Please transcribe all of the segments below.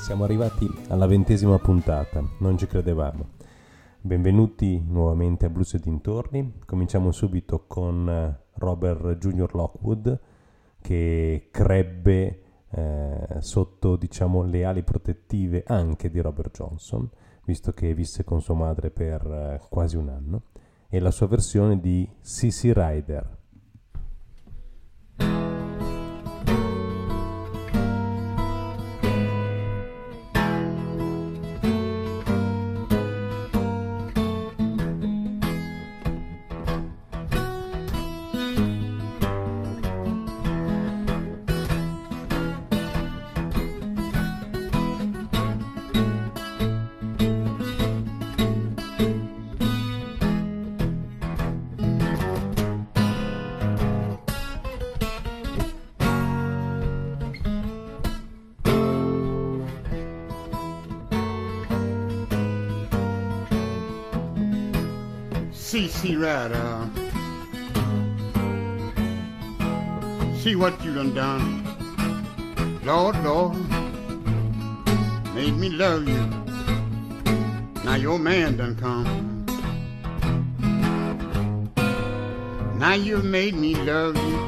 Siamo arrivati alla 20ª puntata, non ci credevamo. Benvenuti nuovamente a Blues e dintorni. Cominciamo subito con Robert Junior Lockwood, che crebbe sotto, diciamo, le ali protettive anche di Robert Johnson, visto che visse con sua madre per quasi un anno, e la sua versione di CC Rider. CC Rider, see what you done, Lord, Lord, made me love you. Now your man done come. Now you made me love you.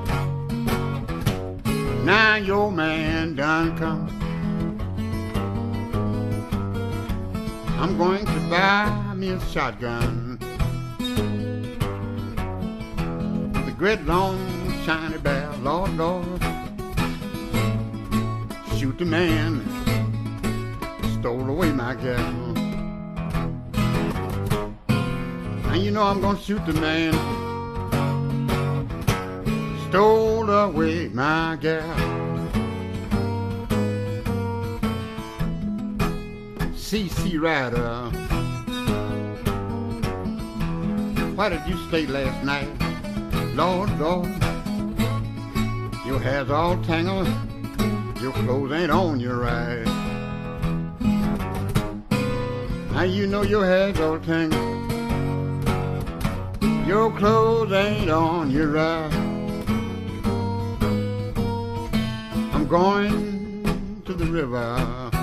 Now your man done come. I'm going to buy me a shotgun. Great long shiny barrel, Lord, Lord, shoot the man that stole away my gal. Now you know I'm gonna shoot the man that stole away my gal. CC Rider, why did you stay last night? Lord, Lord, your hair's all tangled, your clothes ain't on you right. Now you know your hair's all tangled, your clothes ain't on you right. I'm going to the river,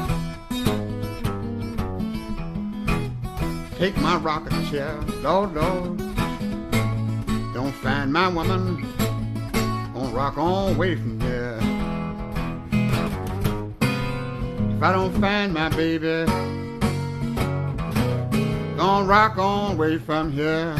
take my rocking chair, Lord, Lord. Don't find my woman, gonna rock on away from here. If I don't find my baby, gonna rock on away from here.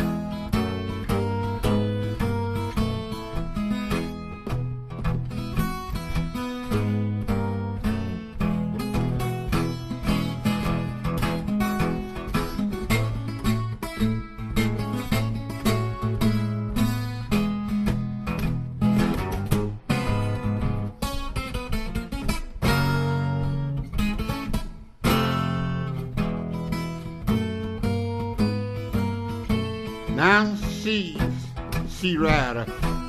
Now CC Rider,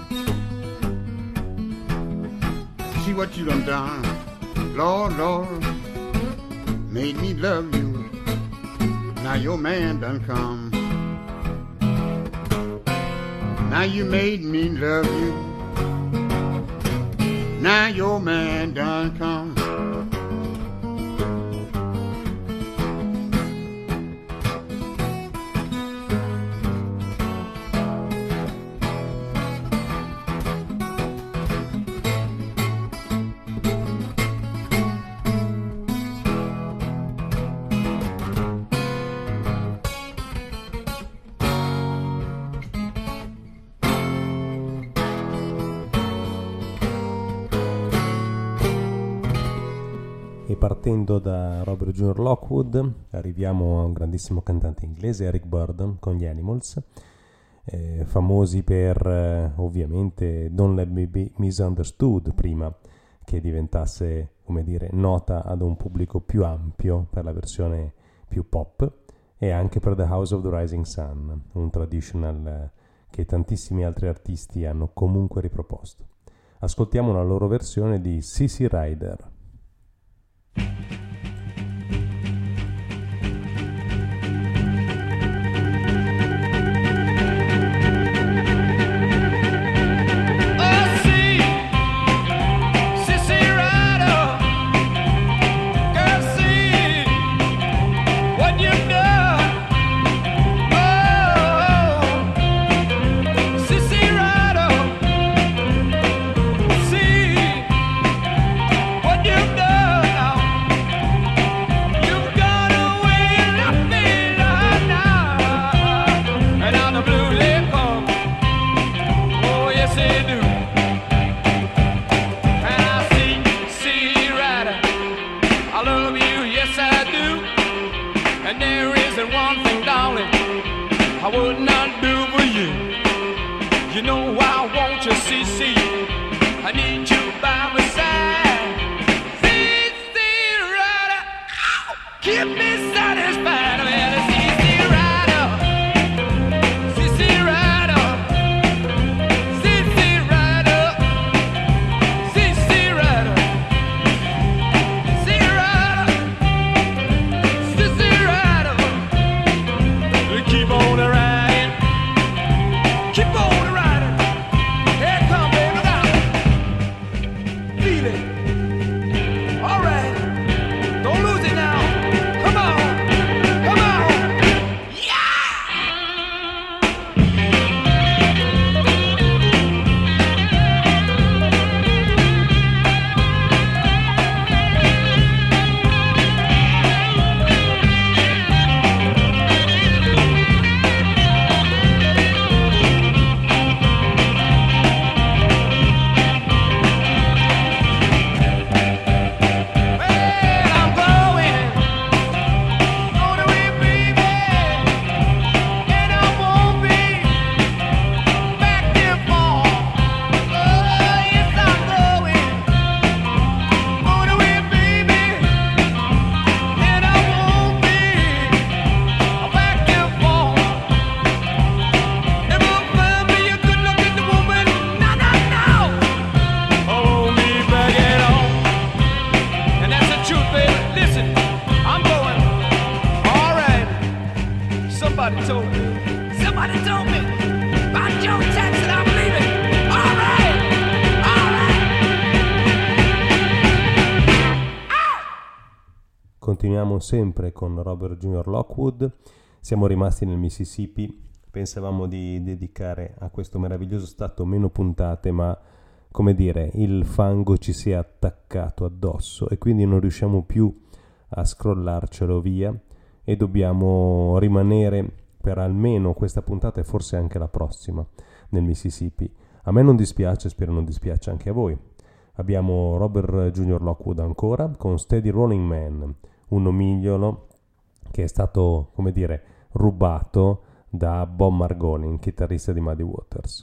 see what you done, Lord, Lord, made me love you. Now your man done come. Now you made me love you. Now your man done come. E partendo da Robert Junior Lockwood arriviamo a un grandissimo cantante inglese, Eric Burdon, con gli Animals, famosi per ovviamente Don't Let Me Be Misunderstood, prima che diventasse, come dire, nota ad un pubblico più ampio per la versione più pop, e anche per The House of the Rising Sun, un traditional che tantissimi altri artisti hanno comunque riproposto. Ascoltiamo la loro versione di CC Rider. Sissy Rider, girl. I love you, yes I do. And there isn't one thing, darling, I would not do for you. You know I want you, CC. I need you by my side. CC Rider, keep me satisfied. Well, CC Rider, CC Rider, CC Rider, CC Rider, CC Rider, CC Rider. Keep on riding, keep on riding. Here come baby now. Feel it. All right. Don't lose it now. Come on. Come on. Well, I'm going away, baby, and I won't be back here for. Oh, yes, I'm going away, baby, and I won't be back here for. Never find me a good-looking woman, no, no, no. Hold me back at all. And that's the truth, baby. Listen, I'm going. All right. Somebody told me. Somebody told me. By Joe Jackson, I'm leaving. All right. All right. Continuiamo sempre con Robert Junior Lockwood. Siamo rimasti nel Mississippi. Pensavamo di dedicare a questo meraviglioso stato meno puntate, ma come dire, il fango ci si è attaccato addosso e quindi non riusciamo più a scrollarcelo via e dobbiamo rimanere per almeno questa puntata e forse anche la prossima nel Mississippi. A me non dispiace, spero non dispiace anche a voi. Abbiamo Robert Junior Lockwood ancora con Steady Rolling Man, un nomignolo che è stato, come dire, rubato da Bob Margolin, chitarrista di Muddy Waters.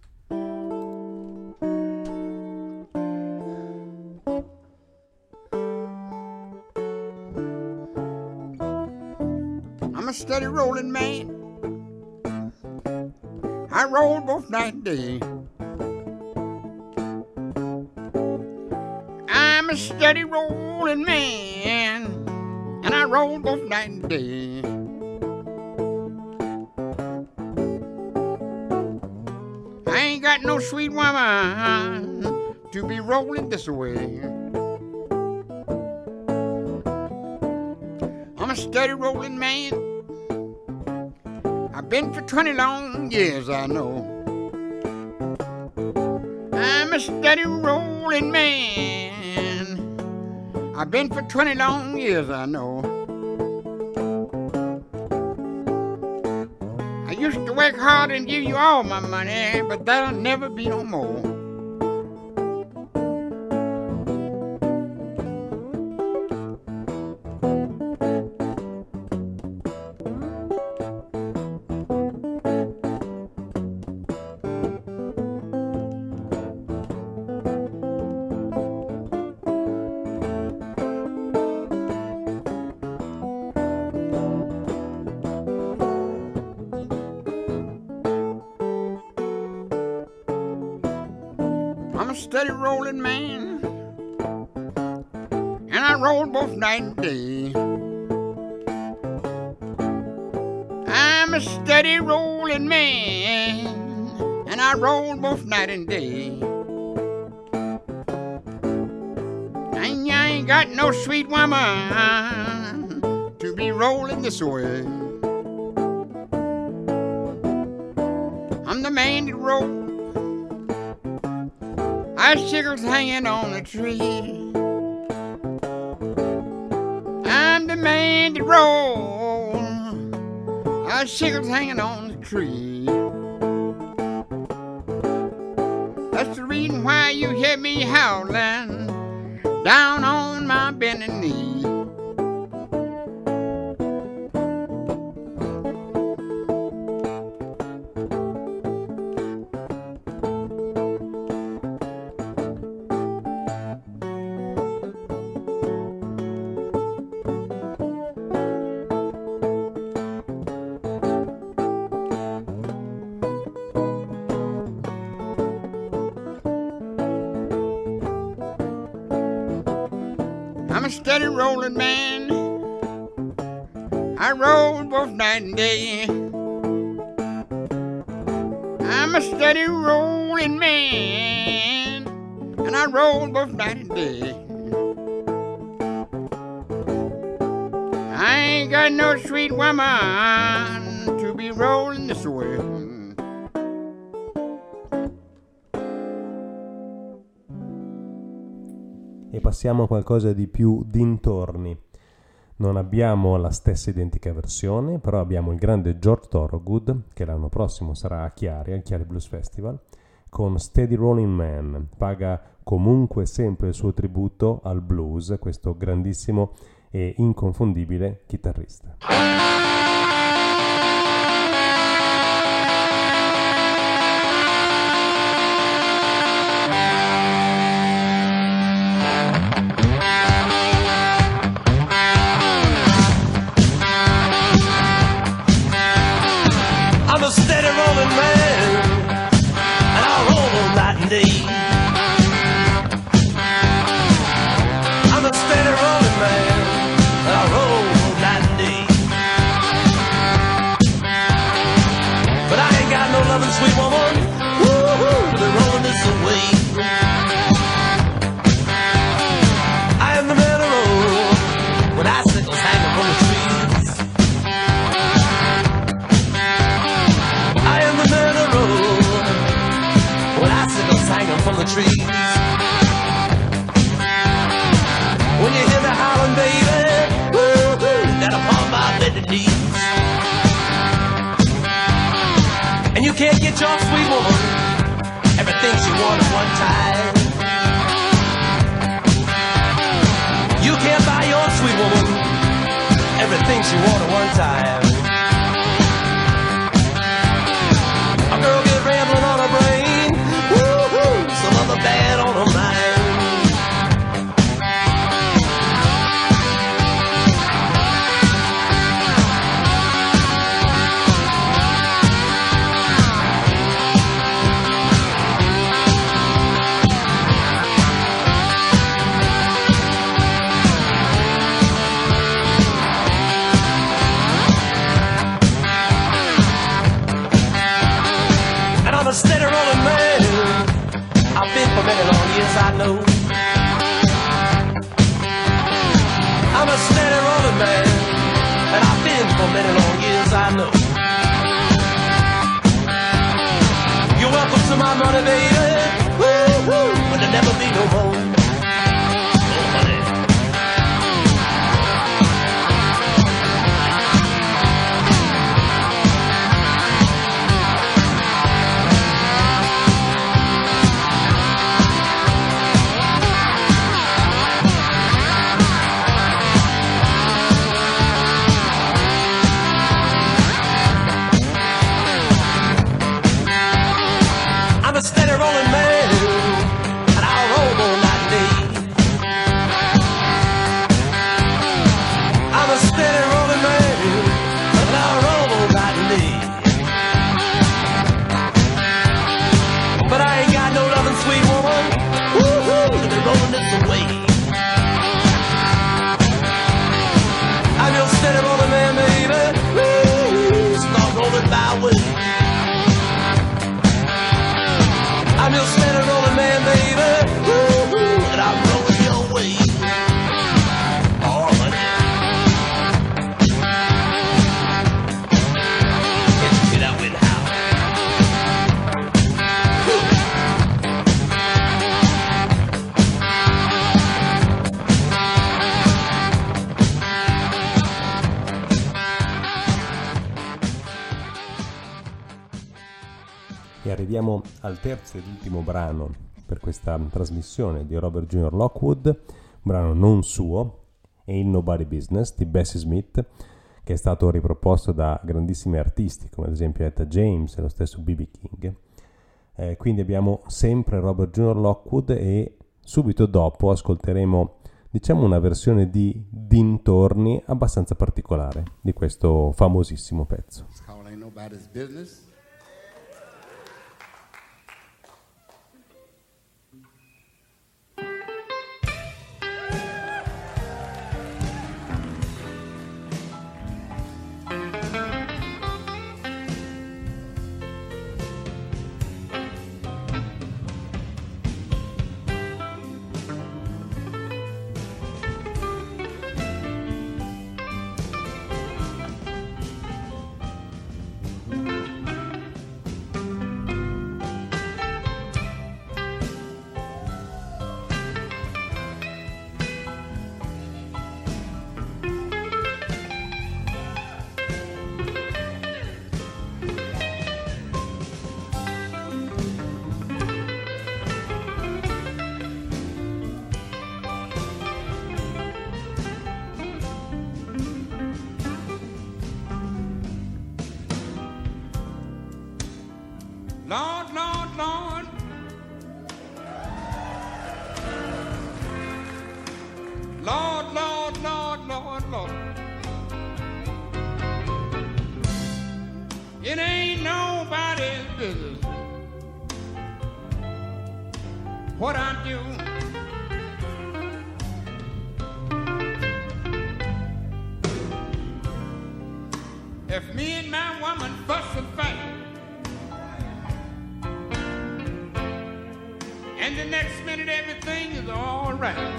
I'm a steady rolling man. I roll both night and day. I'm a steady rolling man, and I roll both night and day. I ain't got no sweet woman to be rolling this way. I'm a steady rolling man. I've been for 20 long years, I know. I'm a steady rolling man. I've been for 20 long years, I know. I used to work hard and give you all my money, but that'll never be no more. I'm a steady rolling man, and I roll both night and day. I'm a steady rolling man, and I roll both night and day. I ain't got no sweet woman to be rolling this way. I'm the man that rolls icicles hanging on a tree. I'm the man that rolls icicles hanging on the tree. That's the reason why you hear me howling down on on my bending knee. I'm a steady rolling man. I roll both night and day. I'm a steady rolling man, and I roll both night and day. I ain't got no sweet woman to be rolling this way. E passiamo a qualcosa di più dintorni. Non abbiamo la stessa identica versione, però abbiamo il grande George Thorogood, che l'anno prossimo sarà a Chiari, al Chiari Blues Festival, con Steady Rolling Man. Paga comunque sempre il suo tributo al blues, questo grandissimo e inconfondibile chitarrista. Sweet woman, woo-hoo, they're rolling this away. I am the man of road when icicles hanging from the trees. I am the man of road when icicles hanging from the trees. When you hear me howling, baby, woo-hoo, down upon my bended knees. And you can't get your sweet woman everything she wanted one time. You can't buy your sweet woman everything she wanted one time. A girl get rambling on her brain, woo-hoo, some other bad on her mind. Steady rolling man, I've been for many long years, I know. I'm a steady rolling man, and I've been for many long years, I know. You're welcome to my money, baby, woo-hoo, but there'll never be no more. Steady rolling man, and I'll roll all night and day. I'm a steady rolling man, and I'll roll all night and day. But I ain't got no loving sweet woman, woo-hoo, to be rolling this away. I'm your steady rolling man, baby, woo, start rolling my way. I'm your steady rolling man, baby, woo-hoo, and I'm rolling your way. Oh, honey. Can't you get out with how? E arriviamo al terzo ed ultimo brano per questa trasmissione di Robert Junior Lockwood, brano non suo, Ain't Nobody Business di Bessie Smith, che è stato riproposto da grandissimi artisti come ad esempio Etta James e lo stesso B.B. King. Quindi abbiamo sempre Robert Junior Lockwood e subito dopo ascolteremo, diciamo, una versione di dintorni abbastanza particolare di questo famosissimo pezzo. It's called Ain't Nobody's Business. Lord, Lord, Lord. Lord, Lord, Lord, Lord, Lord. It ain't nobody's business what I do. If me and my woman fuss and fight, and the next minute everything is all right,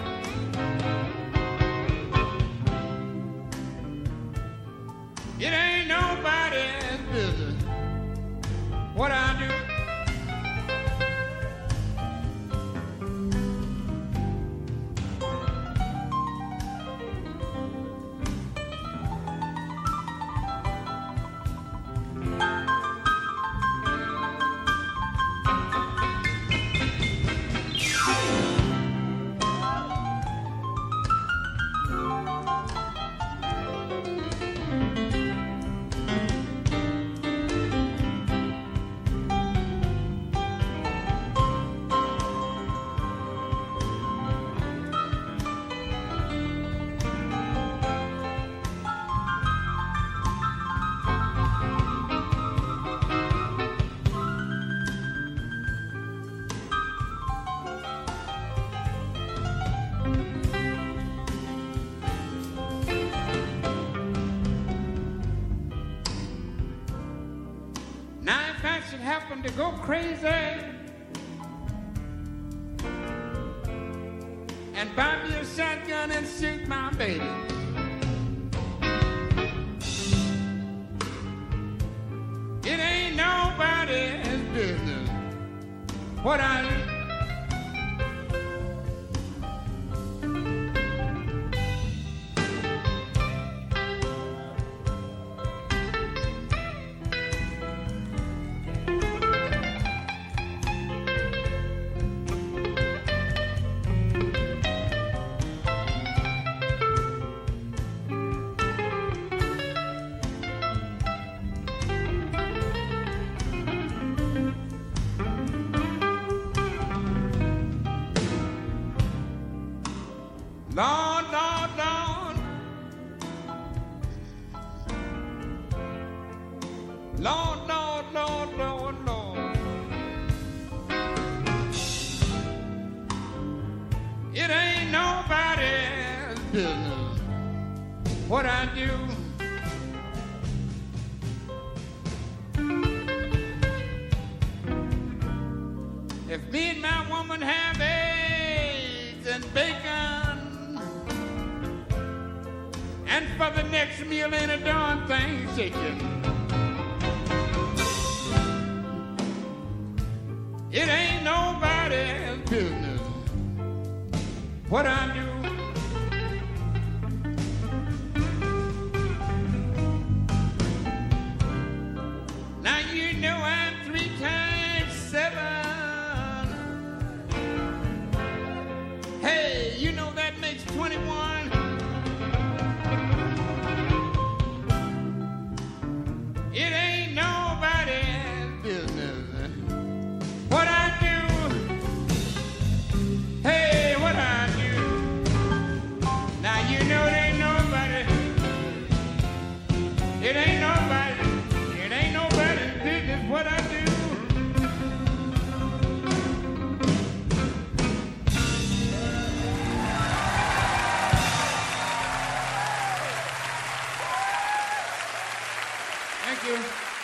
it ain't nobody's business what I do. Happen to go crazy and buy me a shotgun and shoot my baby, it ain't nobody's business what I do. Lord, Lord, Lord. Lord, Lord, Lord, Lord, Lord. It ain't nobody's business what I do. If me and my woman have eggs and bacon, and for the next meal ain't a darn thing shaking, it ain't nobody's business what I do. Now you know I'm 3 times 7. Hey, you know that makes It ain't nobody's business what I do. Thank you.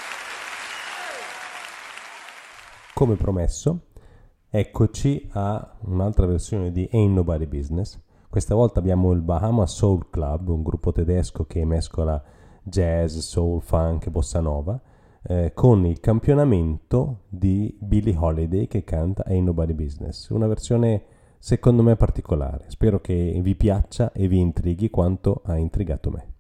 Come promesso, eccoci a un'altra versione di Ain't Nobody Business. Questa volta abbiamo il Bahama Soul Club, un gruppo tedesco che mescola jazz, soul, funk e bossa nova, con il campionamento di Billie Holiday che canta Ain't Nobody Business. Una versione secondo me particolare. Spero che vi piaccia e vi intrighi quanto ha intrigato me.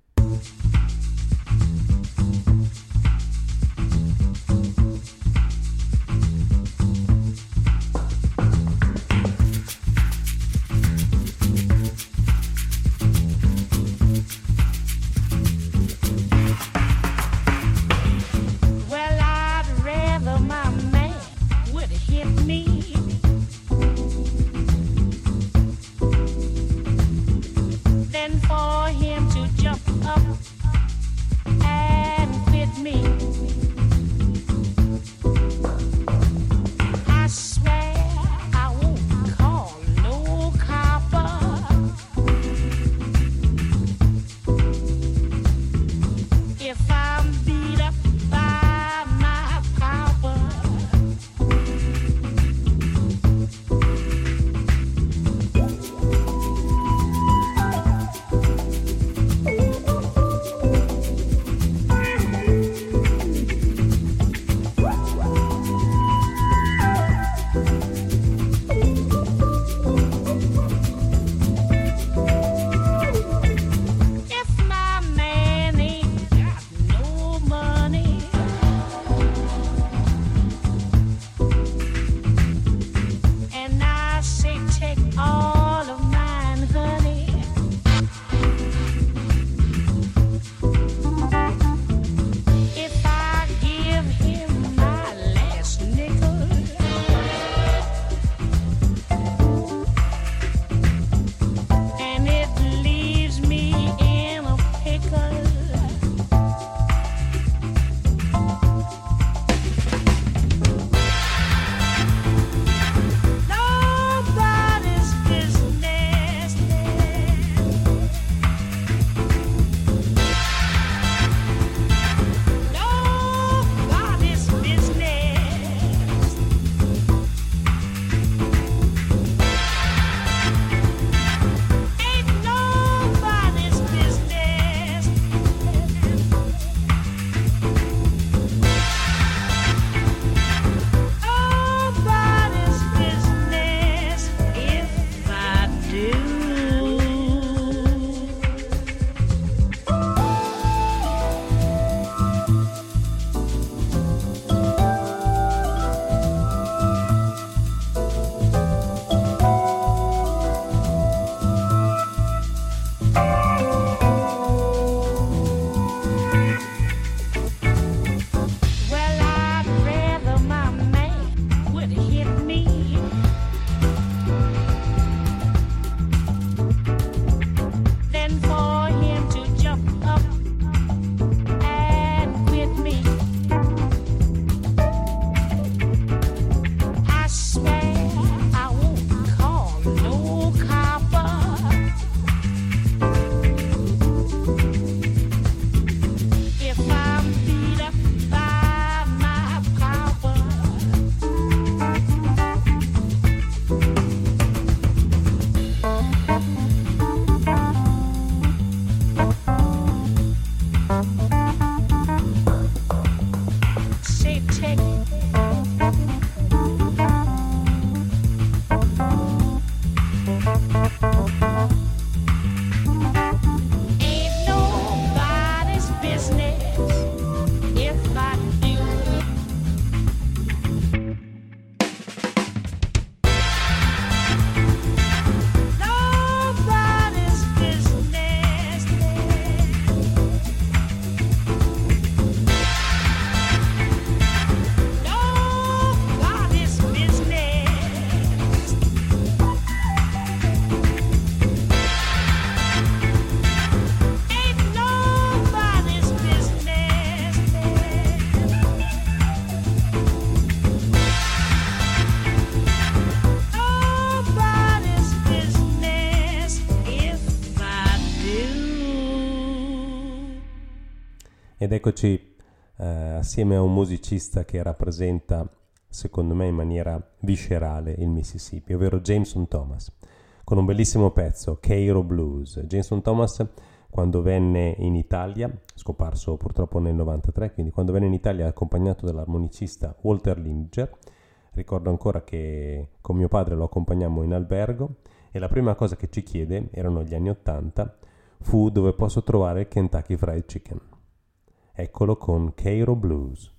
Ed eccoci assieme a un musicista che rappresenta, secondo me in maniera viscerale, il Mississippi, ovvero Jameson Thomas, con un bellissimo pezzo, Cairo Blues. Jameson Thomas, quando venne in Italia, scomparso purtroppo nel 93, quindi quando venne in Italia accompagnato dall'armonicista Walter Linger, ricordo ancora che con mio padre lo accompagnammo in albergo e la prima cosa che ci chiede, erano gli anni 80, fu dove posso trovare il Kentucky Fried Chicken. Eccolo con Cairo Blues.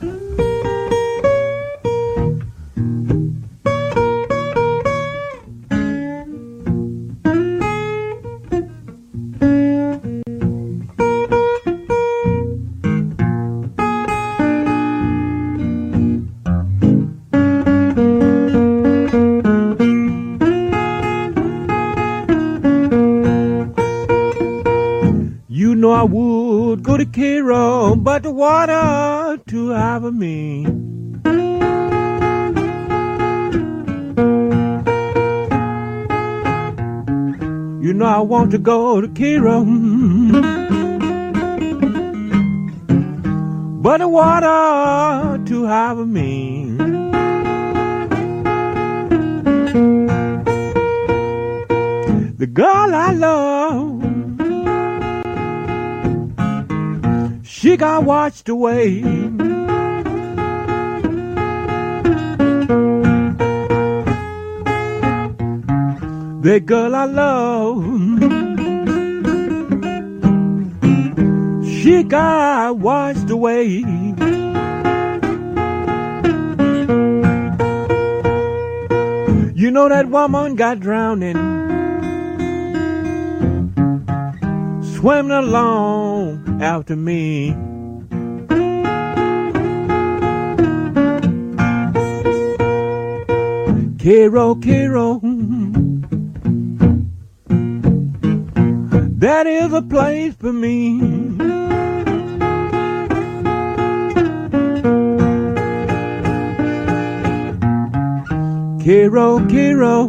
I would go to Cairo, but the water too high for me. You know I want to go to Cairo, but the water too high for me. The girl I love, she got washed away. The girl I love, she got washed away. You know that woman got drowning, swimming along after me. Cairo, Cairo, that is a place for me. Cairo, Cairo,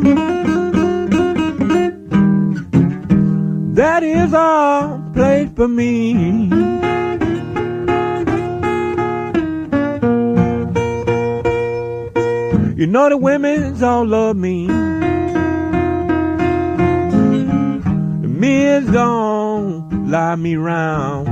that is a place for me. You know the women's all love me. The men's gon' lie me round.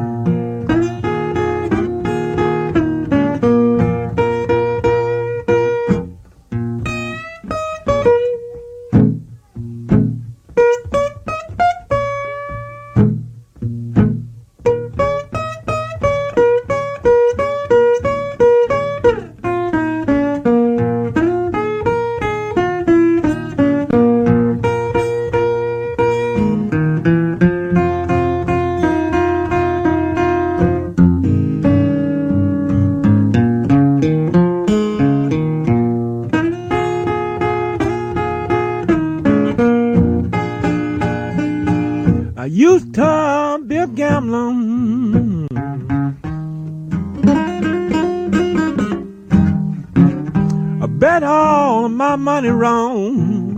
I used to be a gambler. I bet all of my money wrong.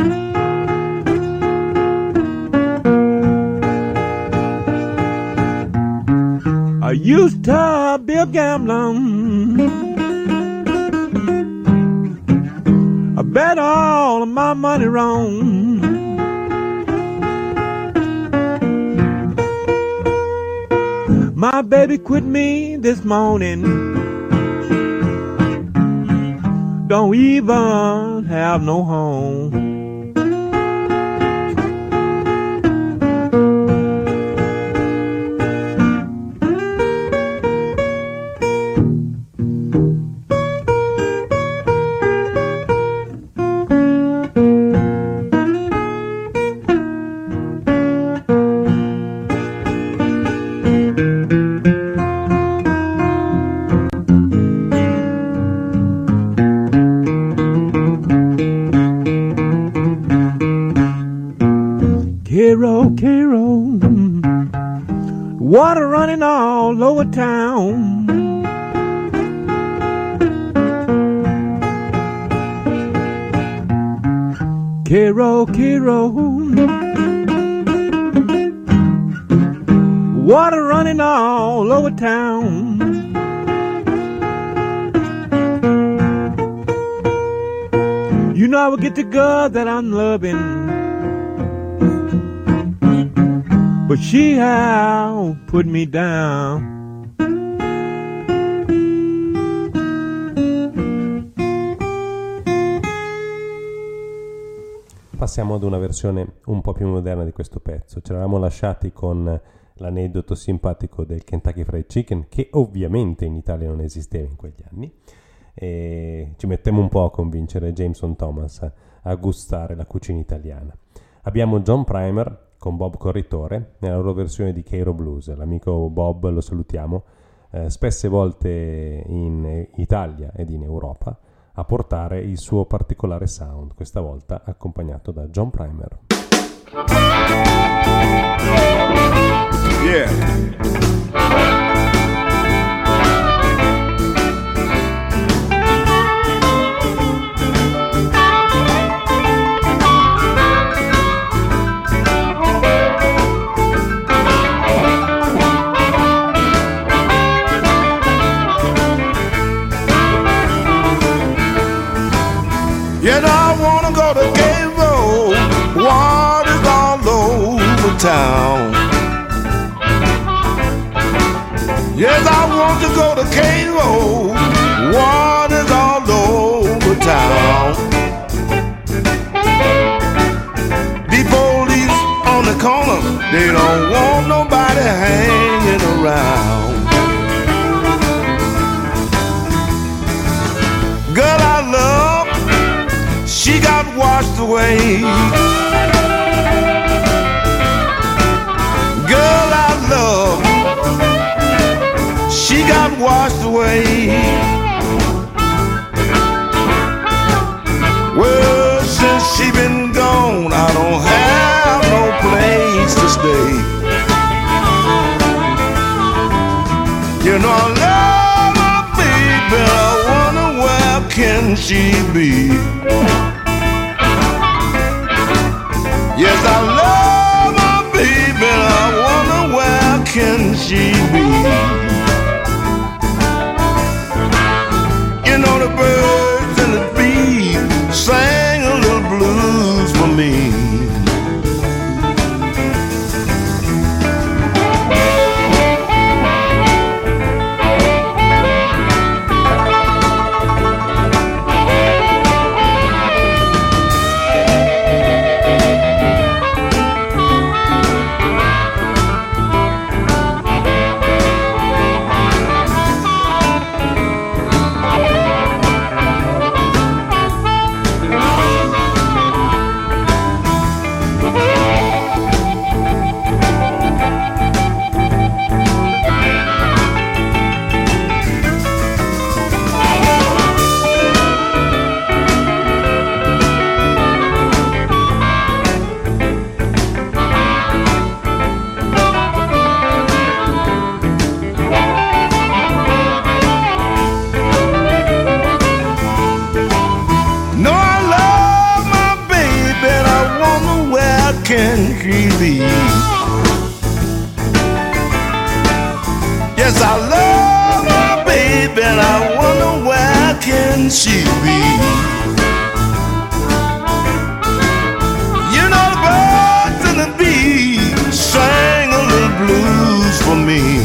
I used to be a gambler. I bet all of my money wrong. My baby quit me this morning. Don't even have no home. Cairo, Cairo, water running all over town. Cairo, Cairo, water running all over town. You know I will get the girl that I'm loving, but she how put me down. Passiamo ad una versione un po' più moderna di questo pezzo. Ci eravamo lasciati con l'aneddoto simpatico del Kentucky Fried Chicken, che ovviamente in Italia non esisteva in quegli anni, e ci mettiamo un po' a convincere Jameson Thomas a gustare la cucina italiana. Abbiamo John Primer con Bob Corritore nella loro versione di Cairo Blues. L'amico Bob, lo salutiamo, spesse volte in Italia ed in Europa a portare il suo particolare sound, questa volta accompagnato da John Primer. Yeah. Yes, I wanna go to Cairo, water's all over town. Yes, I want to go to Cairo, water's all over town. The police on the corner, they don't want nobody hanging around. Girl I love, she got washed away. Girl I love, she got washed away. Well, since she been gone, I don't have no place to stay. You know I love my baby, I wonder where can she be? Yes, I love my baby, I wonder where can she be? You know the birds and the bees sang a little blues for me. Yes, I love my baby, and I wonder where can she be? You know the birds and the bees sang a little blues for me.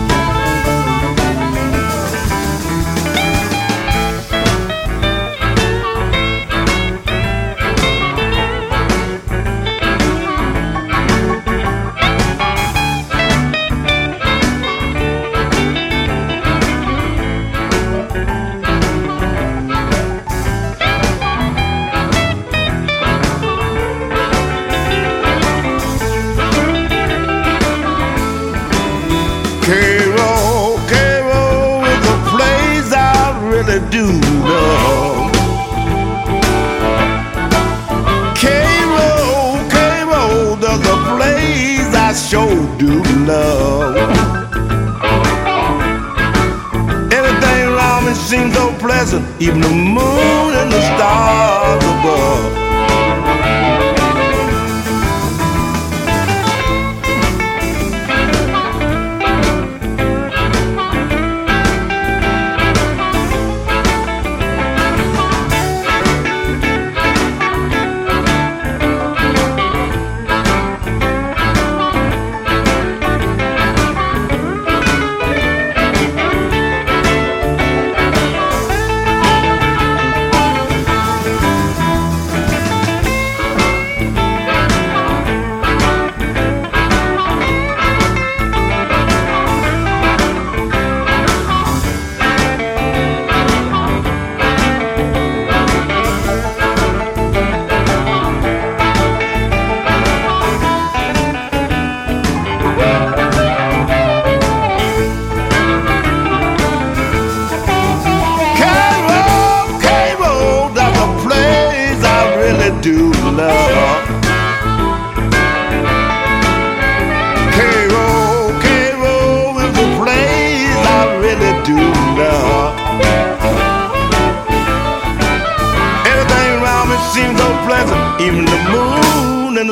Do love. Cairo, there's a place I sure do love. Everything around me seems so pleasant, even the moon and the stars above.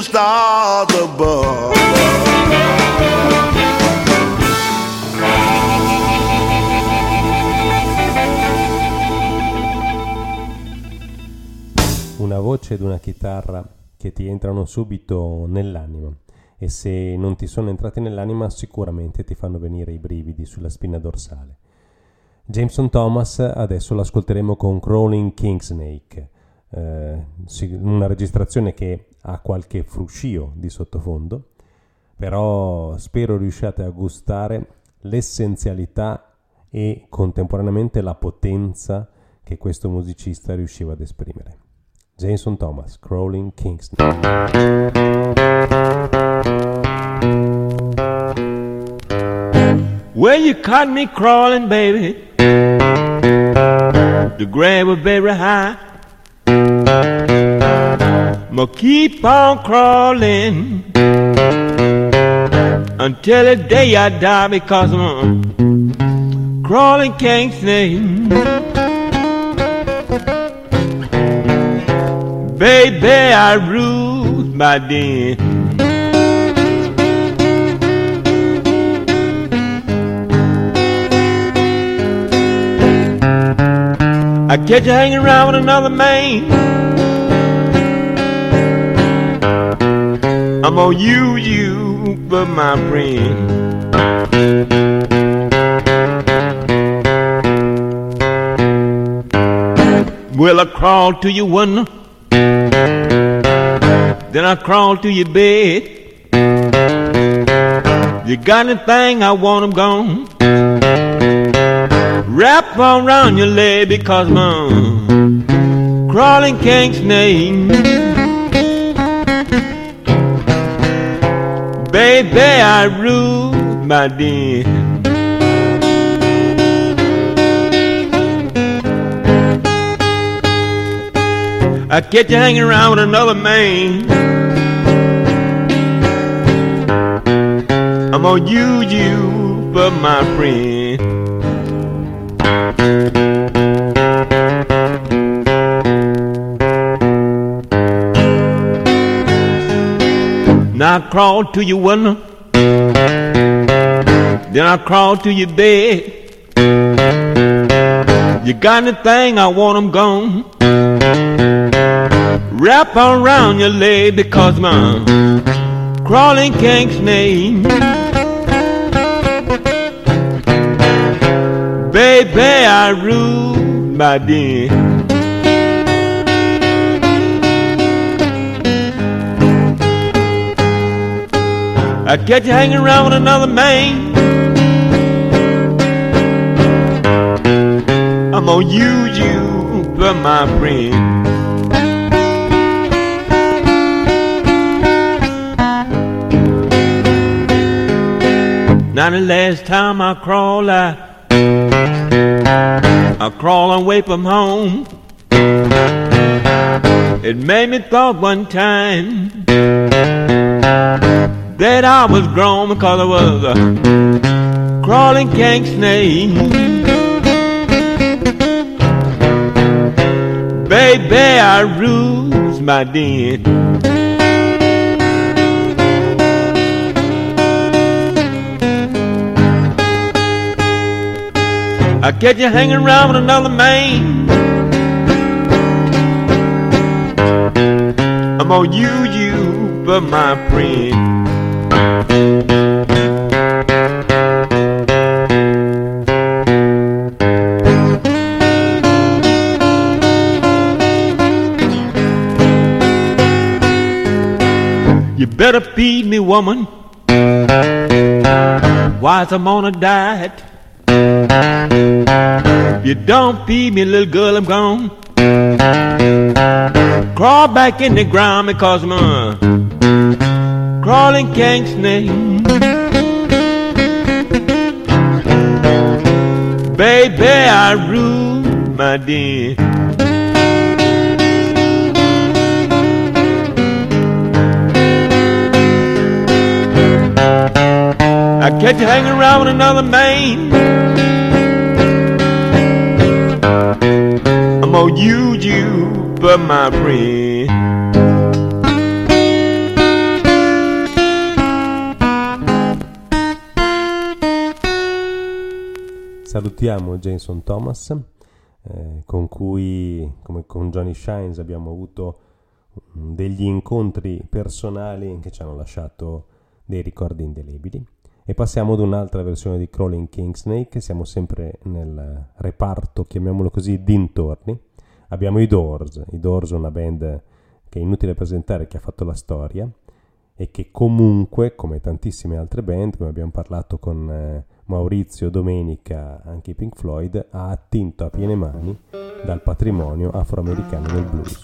the stars above. Una voce ed una chitarra che ti entrano subito nell'anima, e se non ti sono entrati nell'anima sicuramente ti fanno venire i brividi sulla spina dorsale. Jameson Thomas adesso l'ascolteremo con Crawling Kingsnake, una registrazione che ha qualche fruscio di sottofondo, però spero riusciate a gustare l'essenzialità e contemporaneamente la potenza che questo musicista riusciva ad esprimere. Jameson Thomas, Crawling Kingsnake. Well, you caught me crawling, baby. The grave was very high. I'ma keep on crawling until the day I die, because I'm a crawling king snake. Baby, I rule my den. I catch you hanging around with another man, I'm gonna use you for my friend. Well, I crawl to your window, then I crawl to your bed. You got anything, I want 'em gone. Wrap around your leg, because I'm crawling king snake. Baby, I rule my den. I catch you hanging around with another man, I'm gonna use you for my friend. Now I crawl to your window, then I crawl to your bed. You got anything, I want 'em gone. Wrap around your leg, because my crawling king snake. Baby, I rule my den. I catch you hanging around with another man, I'm gonna use you for my friend. Now the last time I crawled, I crawled away from home. It made me thought one time that I was grown, because I was a crawling king snake. Baby, I rules my den. I catch you hanging around with another man, I'm gonna use you for my friend. You better feed me, woman, whilst I'm on a diet. If you don't feed me, little girl, I'm gone. Crawl back in the ground, because I'm a crawling king snake. Baby, I rule my den. I catch you hanging around with another man, I'm gonna use you for my friend. Salutiamo Jason Thomas, con cui, come con Johnny Shines, abbiamo avuto degli incontri personali che ci hanno lasciato dei ricordi indelebili. E passiamo ad un'altra versione di Crawling Kingsnake. Siamo sempre nel reparto, chiamiamolo così, dintorni. Abbiamo i Doors, una band che è inutile presentare, che ha fatto la storia e che comunque, come tantissime altre band, come abbiamo parlato con Maurizio, domenica, anche i Pink Floyd, ha attinto a piene mani dal patrimonio afroamericano del blues.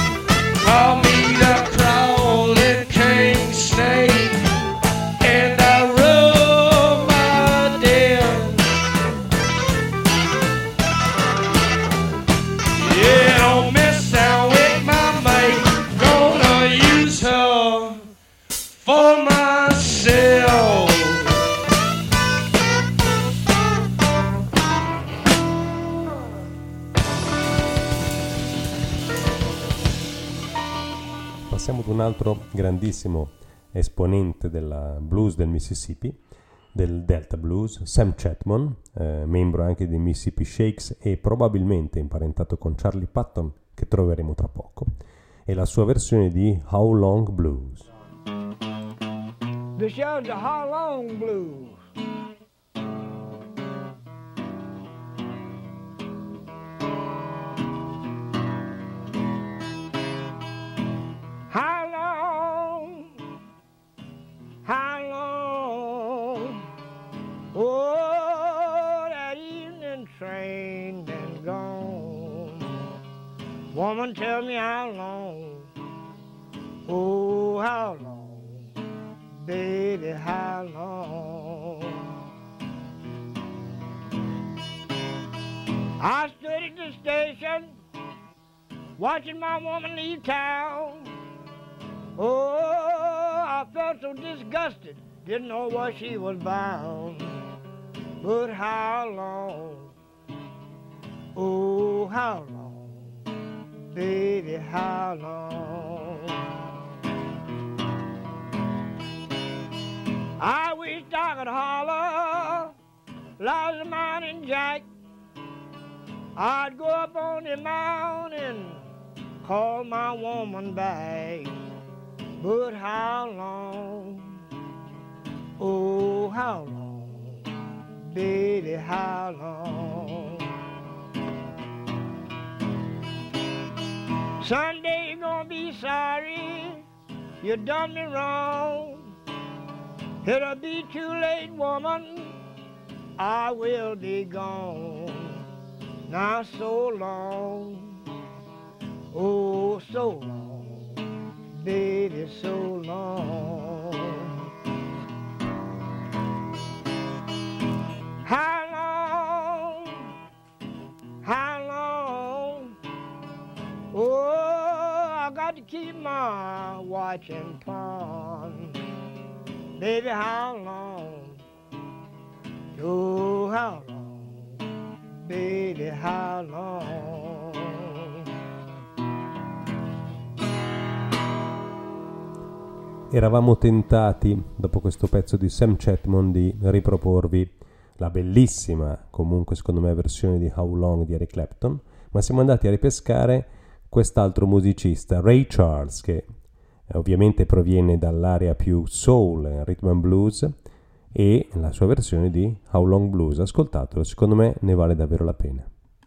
Call me the crawling king snake, and un altro grandissimo esponente del blues del Mississippi, del Delta Blues, Sam Chatmon, membro anche dei Mississippi Shakes e probabilmente imparentato con Charlie Patton, che troveremo tra poco, e la sua versione di How Long Blues. This is the How Long Blues. How long, oh, that evening train been gone. Woman, tell me how long, oh, how long, baby, how long. I stood at the station, watching my woman leave town. Oh, I felt so disgusted, didn't know where she was bound. But how long, oh, how long, baby, how long. I wish I could holler, Liza Mountain Jack. I'd go up on the mountain, call my woman back. But how long, oh, how long, baby, how long. Someday you're gonna be sorry you done me wrong. It'll be too late, woman, I will be gone. Now so long, oh, so long, baby, so long. How long, how long, oh, I got to keep my watch and pawn. Baby, how long, oh, how long, baby, how long. Eravamo tentati, dopo questo pezzo di Sam Chatmon, di riproporvi la bellissima, comunque secondo me, versione di How Long di Eric Clapton, ma siamo andati a ripescare quest'altro musicista, Ray Charles, che ovviamente proviene dall'area più soul, rhythm and blues, e la sua versione di How Long Blues. Ascoltatelo, secondo me ne vale davvero la pena.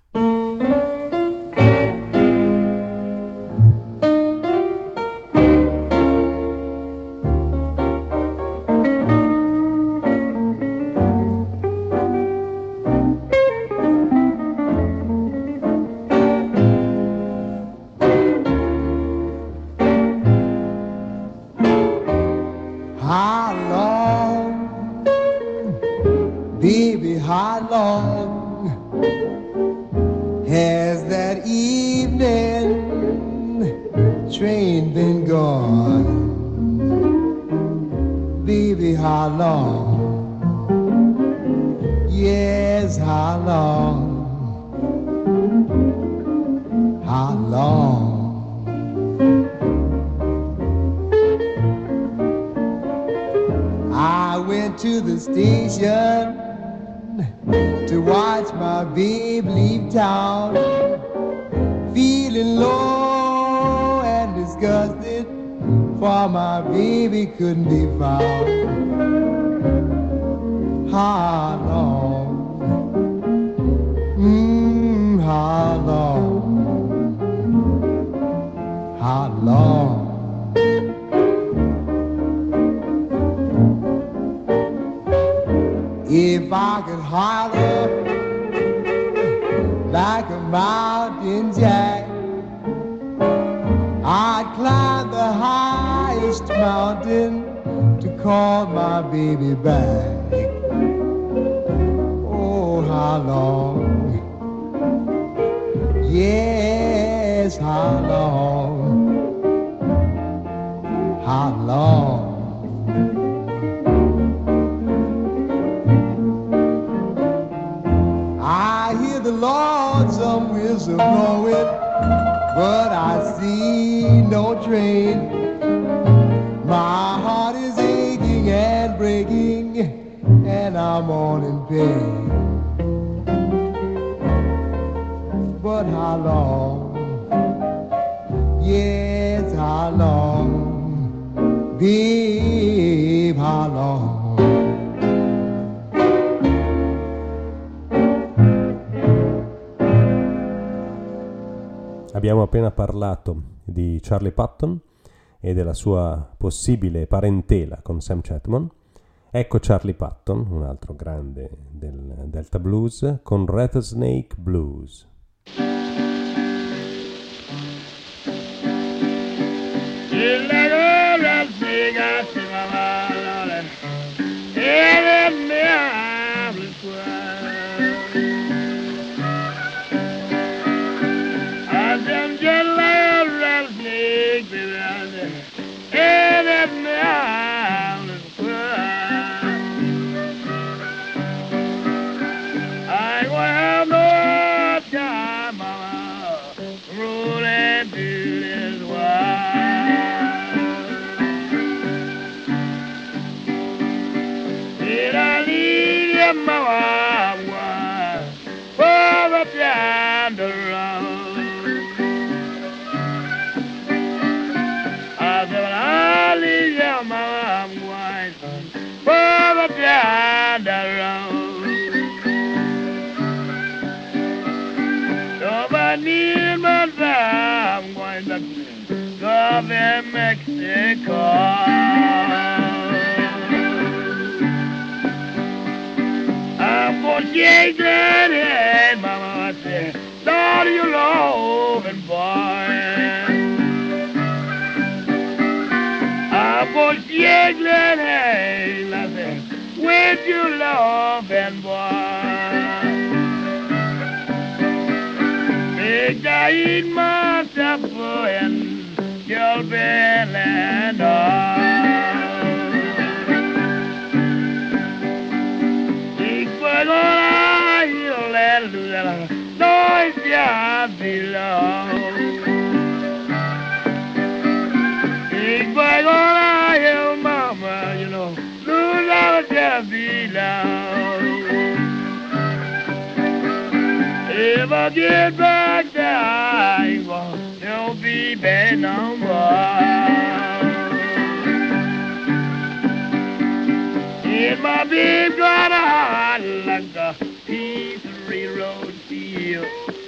Couldn't be found. How long? How long? How long? If I could holler like a mountain jack, I'd climb the highest mountain to call my baby back. Oh, how long? Yes, how long? How long? I hear the lonesome whistle blowing, but I see no train. I'm all in pain. But how long? Yes, how long? Babe, how long? Abbiamo appena parlato di Charlie Patton e della sua possibile parentela con Sam Chatman. Ecco Charlie Patton, un altro grande del Delta Blues, con Rattlesnake Blues. In Mexico, I'm gonna shake that head, mama, I said, Lord, you loving boy. I'm gonna shake that head, I said, with you loving boy. Make I eat my supper and your bell and all. Big boy gonna heal that little noise ya below. Big boy gonna heal mama, you know, lose out ya below. If I get back there, I won't. Don't be bad no more. In my big got a heart like a piece of railroad steel.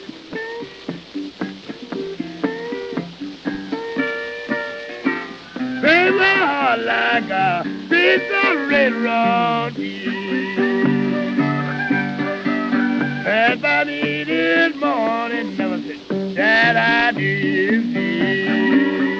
Baby, my heart like a piece of railroad steel. If I need it morning, never said that I did feel.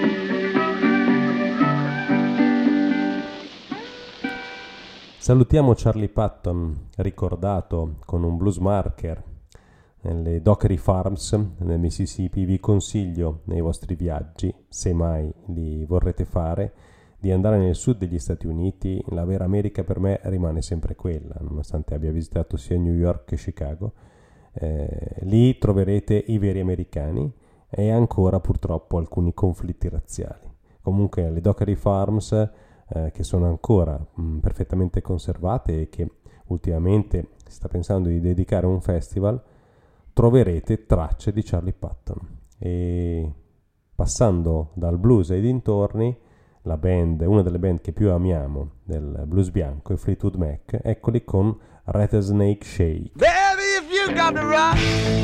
Salutiamo Charlie Patton, ricordato con un blues marker nelle Dockery Farms nel Mississippi. Vi consiglio nei vostri viaggi, se mai li vorrete fare, di andare nel sud degli Stati Uniti. La vera America per me rimane sempre quella, nonostante abbia visitato sia New York che Chicago. Lì troverete i veri americani e ancora purtroppo alcuni conflitti razziali. Comunque le Dockery Farms, che sono ancora perfettamente conservate e che ultimamente si sta pensando di dedicare un festival, troverete tracce di Charlie Patton. E passando dal blues ai dintorni, la band, una delle band che più amiamo del blues bianco, i Fleetwood Mac, eccoli con Rattlesnake Shake. Baby, if you got to rock,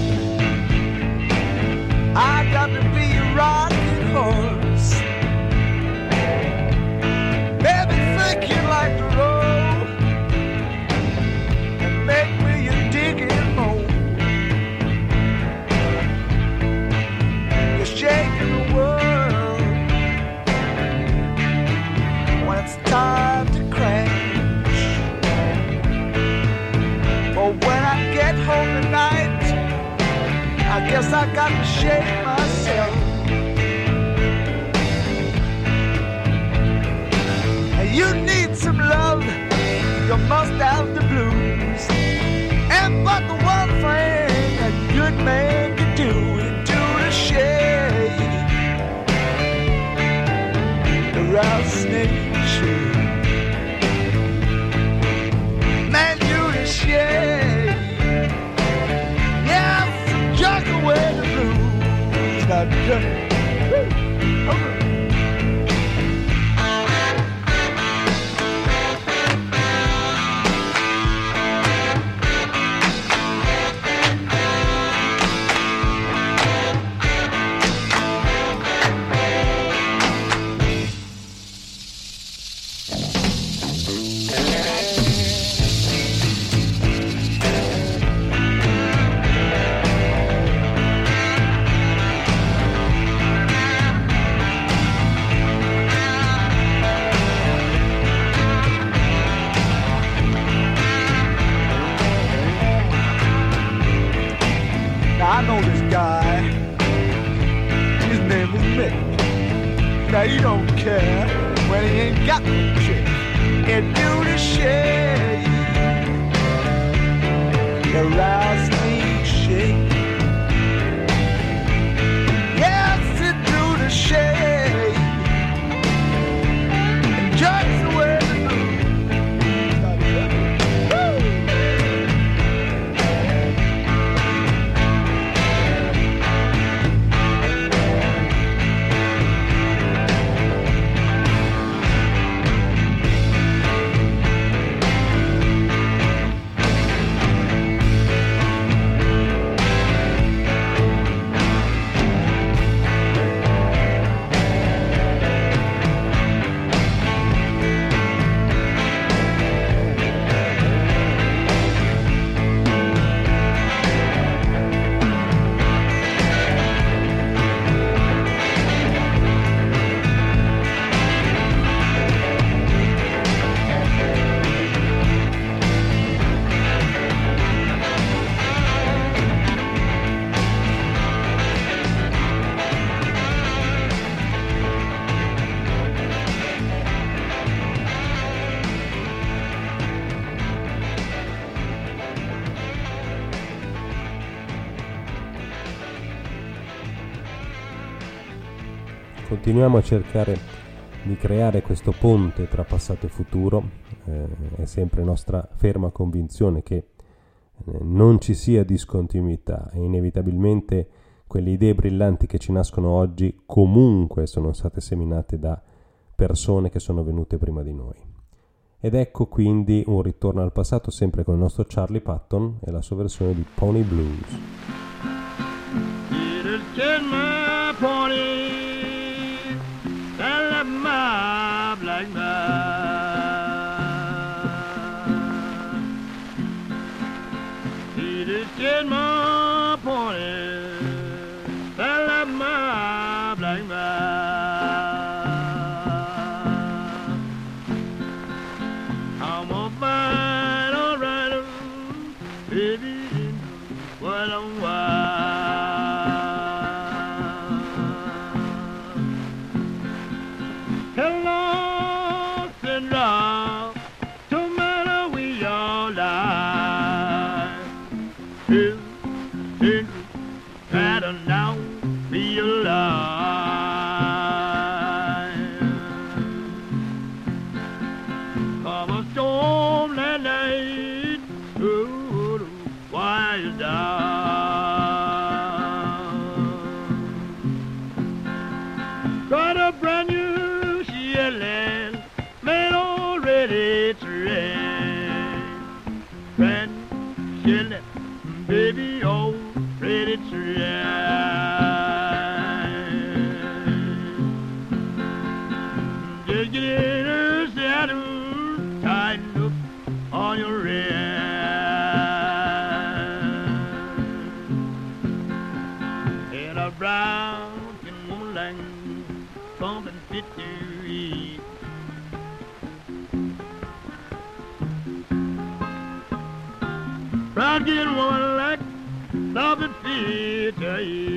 I got to be a rocking horse. Baby, think you like the road and make me a digging hole. You're shaking the world when it's time to crash. But when I get home tonight, I guess I got to shake myself. And you need some love, you must have the blues. And but the one thing a good man can do is do the shake, the rattlesnake shake. Man, you I tell you. I know this guy, his name is Mick. Now he don't care when he ain't got no chick. And do the shake, the rattlesnake shake. Yes, it do the shake, and just the way the Continuiamo a cercare di creare questo ponte tra passato e futuro, è sempre nostra ferma convinzione che non ci sia discontinuità e inevitabilmente quelle idee brillanti che ci nascono oggi comunque sono state seminate da persone che sono venute prima di noi. Ed ecco quindi un ritorno al passato sempre con il nostro Charlie Patton e la sua versione di Pony Blues. My black man, he just get my pony, I love my black man. I'm a fine old rider, baby, what I'm wild. Hello, Sandra, tomato we all die. Two, try to now be alive. Come a storm that night, ooh, why you down? Got a brand new land, man already trained. Brand chillin', baby already trained. Just get in her saddle, tighten up on your rear. In a brown moonlight, pumping 50. Proud getting one like love and fear to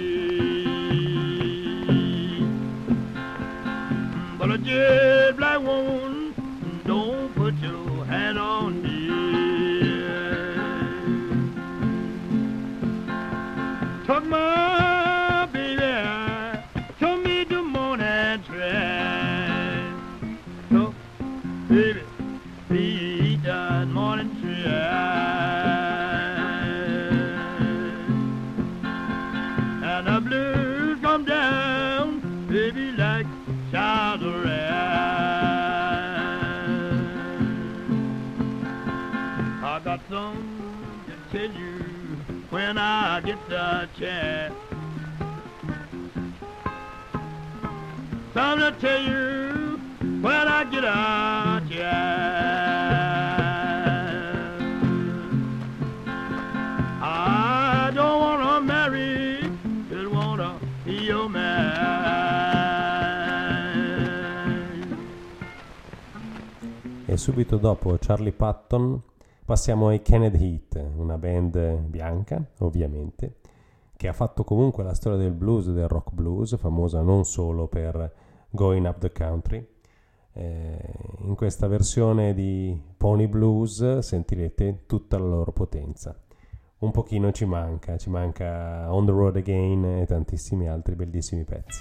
eat. But a jet black woman, don't put your hand on me. Took my baby, took me to morning train. Took baby, be done morning train. The blues come down. when I get the chance. Something to tell you when I get a chance. I don't wanna marry, just wanna be your man. E subito dopo Charlie Patton passiamo ai Kenneth Heat, una band bianca, ovviamente, che ha fatto comunque la storia del blues e del rock blues, famosa non solo per Going Up the Country. In questa versione di Pony Blues sentirete tutta la loro potenza. Un pochino ci manca On the Road Again e tantissimi altri bellissimi pezzi.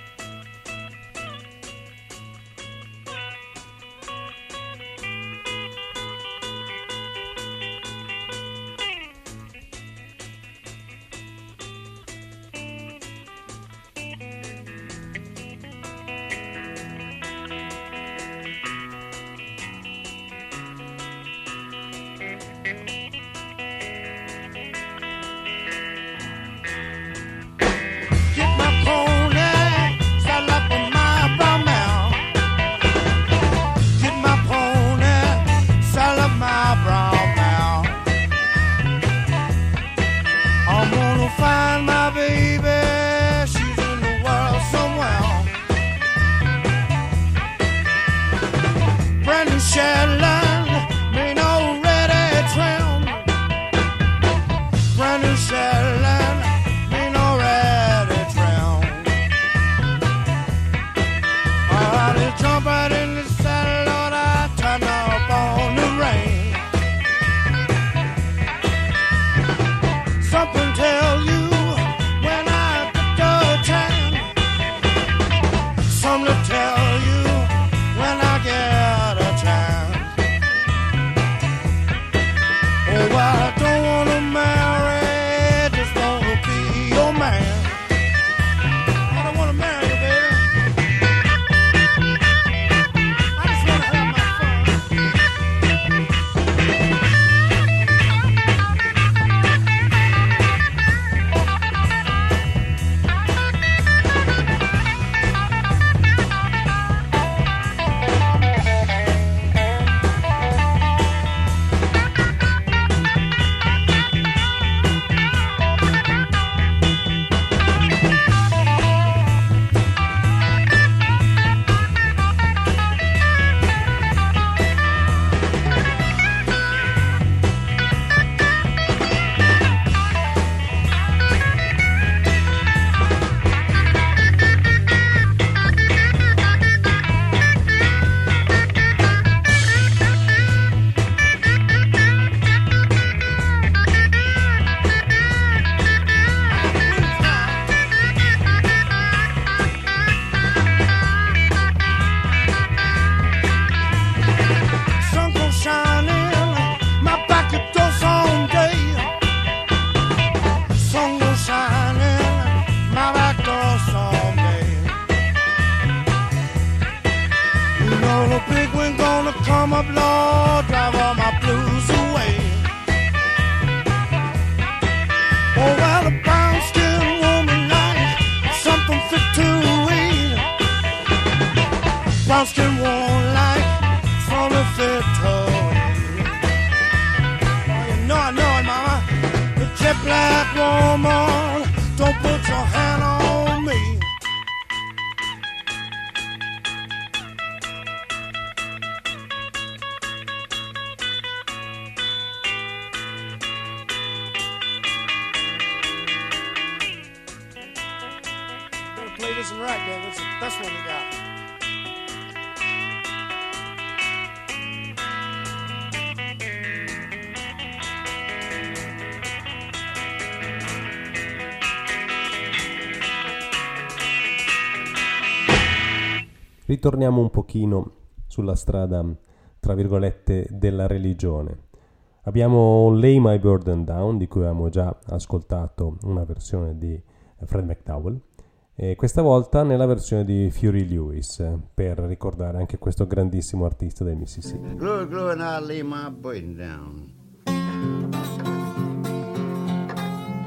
Ritorniamo un pochino sulla strada, tra virgolette, della religione. Abbiamo Lay My Burden Down, di cui avevamo già ascoltato una versione di Fred McDowell, e questa volta nella versione di Fury Lewis, per ricordare anche questo grandissimo artista del Mississippi. Glory, glory, and I lay my burden down.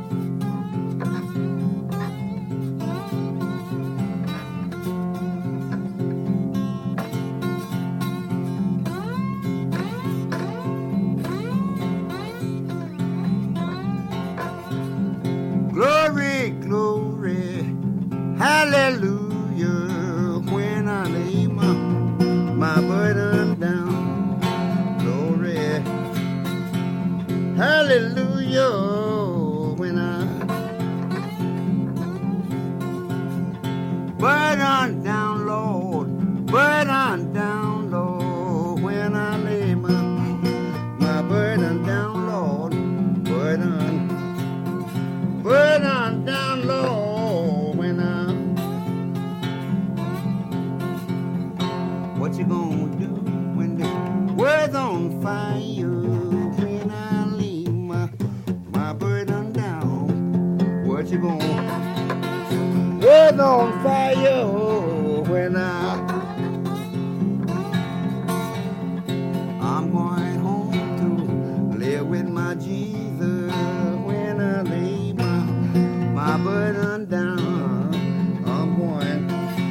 my burden down. Glory, hallelujah, when I burden down, Lord, burden down, Lord, when I lay my burden down, Lord, burden down, Lord, when I. What you gonna do when the world's on fire? When I lay my burden down, what you gonna? World's on fire when I'm going home to live with my Jesus. When I lay my burden down, I'm going.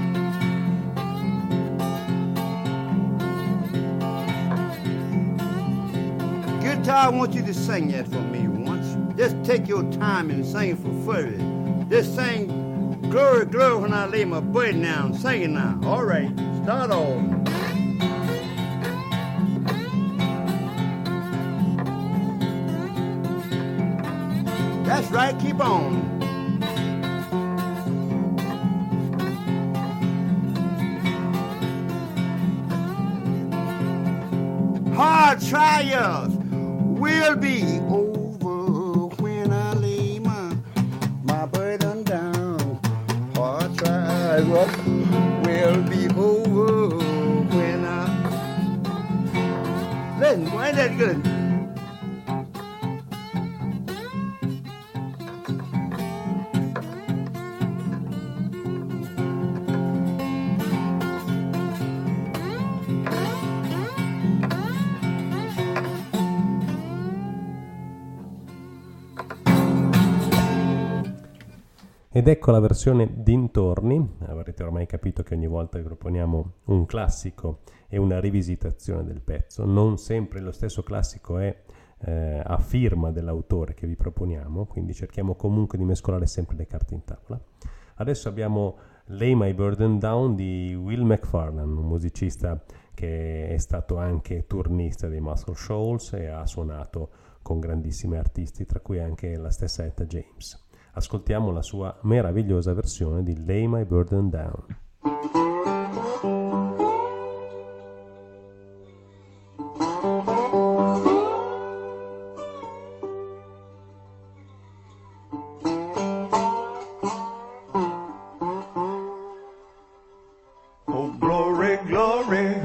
Guitar, I want you to sing that for me once. Just take your time and sing for 30. Just sing glory, glory when I lay my burden down. Sing it now. All right, start on. That's right, keep on. Hard trials will be over when I lay my burden down. Hard trials will be over when I. Listen, why ain't that good? Ed ecco la versione dintorni. Avrete ormai capito che ogni volta che proponiamo un classico e una rivisitazione del pezzo, non sempre lo stesso classico è a firma dell'autore che vi proponiamo, quindi cerchiamo comunque di mescolare sempre le carte in tavola. Adesso abbiamo Lay My Burden Down di Will McFarlane, un musicista che è stato anche turnista dei Muscle Shoals e ha suonato con grandissimi artisti, tra cui anche la stessa Etta James. Ascoltiamo la sua meravigliosa versione di Lay My Burden Down. Oh, glory, glory,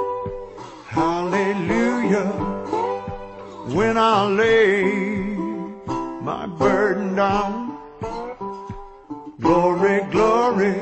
hallelujah, when I lay my burden down. Glory, glory,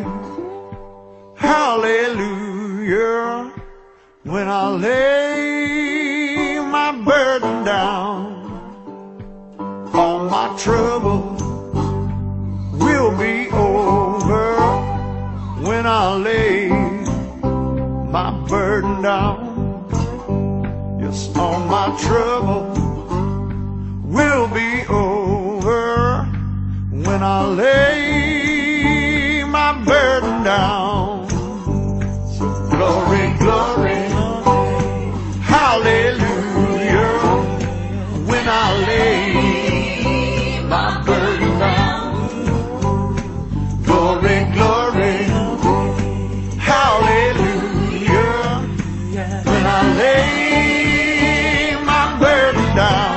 hallelujah, when I lay my burden down. All my trouble will be over when I lay my burden down. Yes, all my trouble will be over when I lay my burden down. So glory, glory, hallelujah, when I lay my burden down. Glory, glory, hallelujah, when I lay my burden down.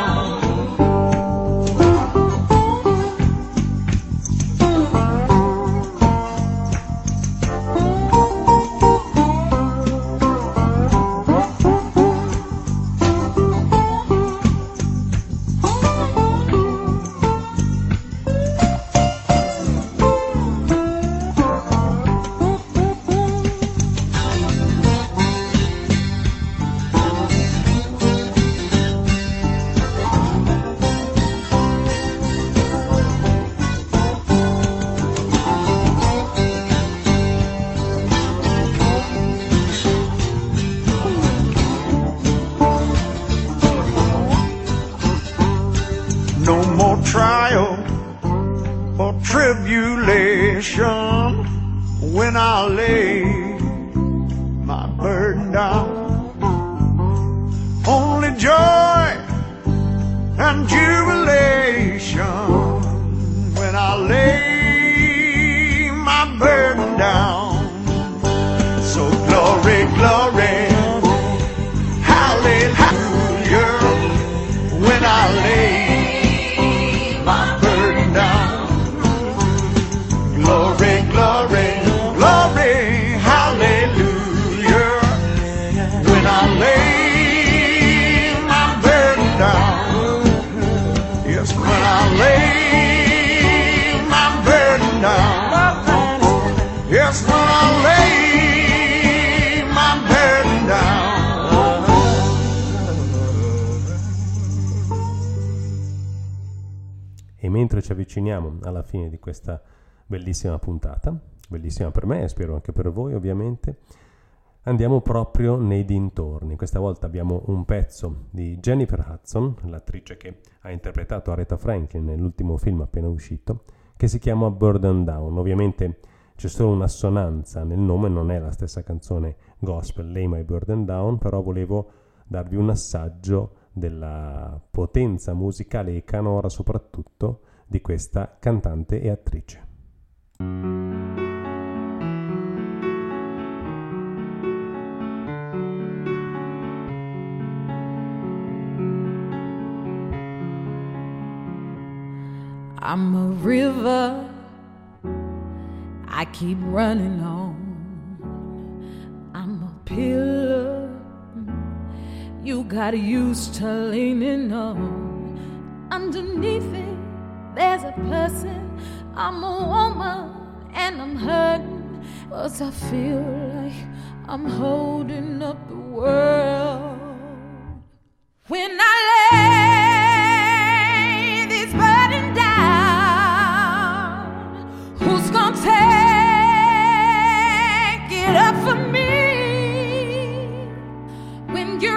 Trial or tribulation when I lay my burden down. when I lay my burden down. Yes, when I lay my burden down. Yes, when I lay my burden down. E mentre ci avviciniamo alla fine di questa bellissima puntata, bellissima per me e spero anche per voi ovviamente, andiamo proprio nei dintorni. Questa volta abbiamo un pezzo di Jennifer Hudson, l'attrice che ha interpretato Aretha Franklin nell'ultimo film appena uscito, che si chiama Burden Down. Ovviamente c'è solo un'assonanza nel nome, non è la stessa canzone gospel, Lay My Burden Down, però volevo darvi un assaggio della potenza musicale e canora soprattutto di questa cantante e attrice. I'm a river, I keep running on. I'm a pillar, you got used to leaning on. Underneath it, there's a person. I'm a woman and I'm hurting, 'cause I feel like I'm holding up the world. When I lay this burden down, who's gonna take it up for me? When you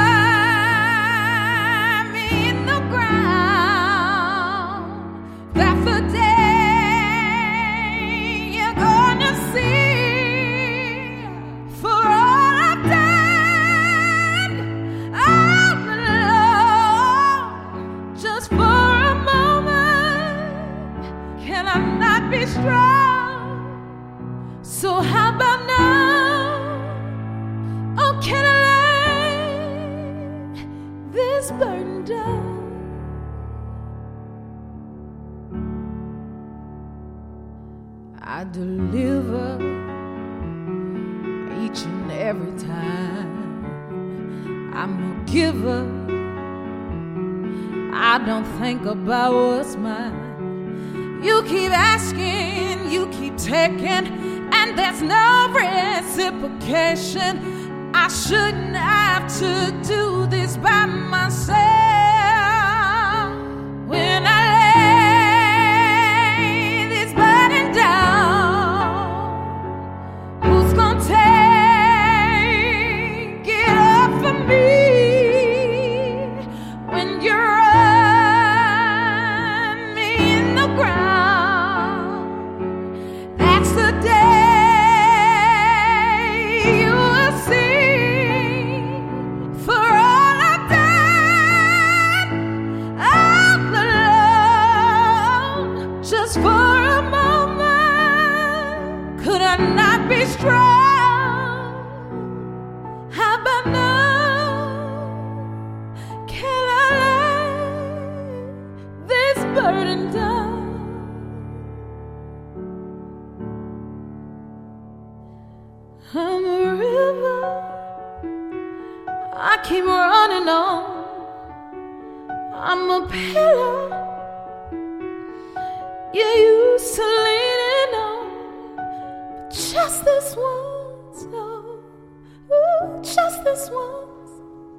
run me in the ground, that's the day you're gonna see. For all I've done, all alone, just for a moment, can I not be strong? So how about now? Oh, can I this burden down? I deliver each and every time. I'm a giver, I don't think about what's mine. You keep asking, you keep taking, and there's no reciprocation. I shouldn't have to do this by myself. When I lay this burden down, who's gonna take it up for me? When you run me in the ground, that's the day you will see. Just for a moment, could I not be strong? How about now? Can I lay this burden down? I'm a river, I keep running on. I'm a pillar you're used to leaning on, but just this once, no, ooh, just this once.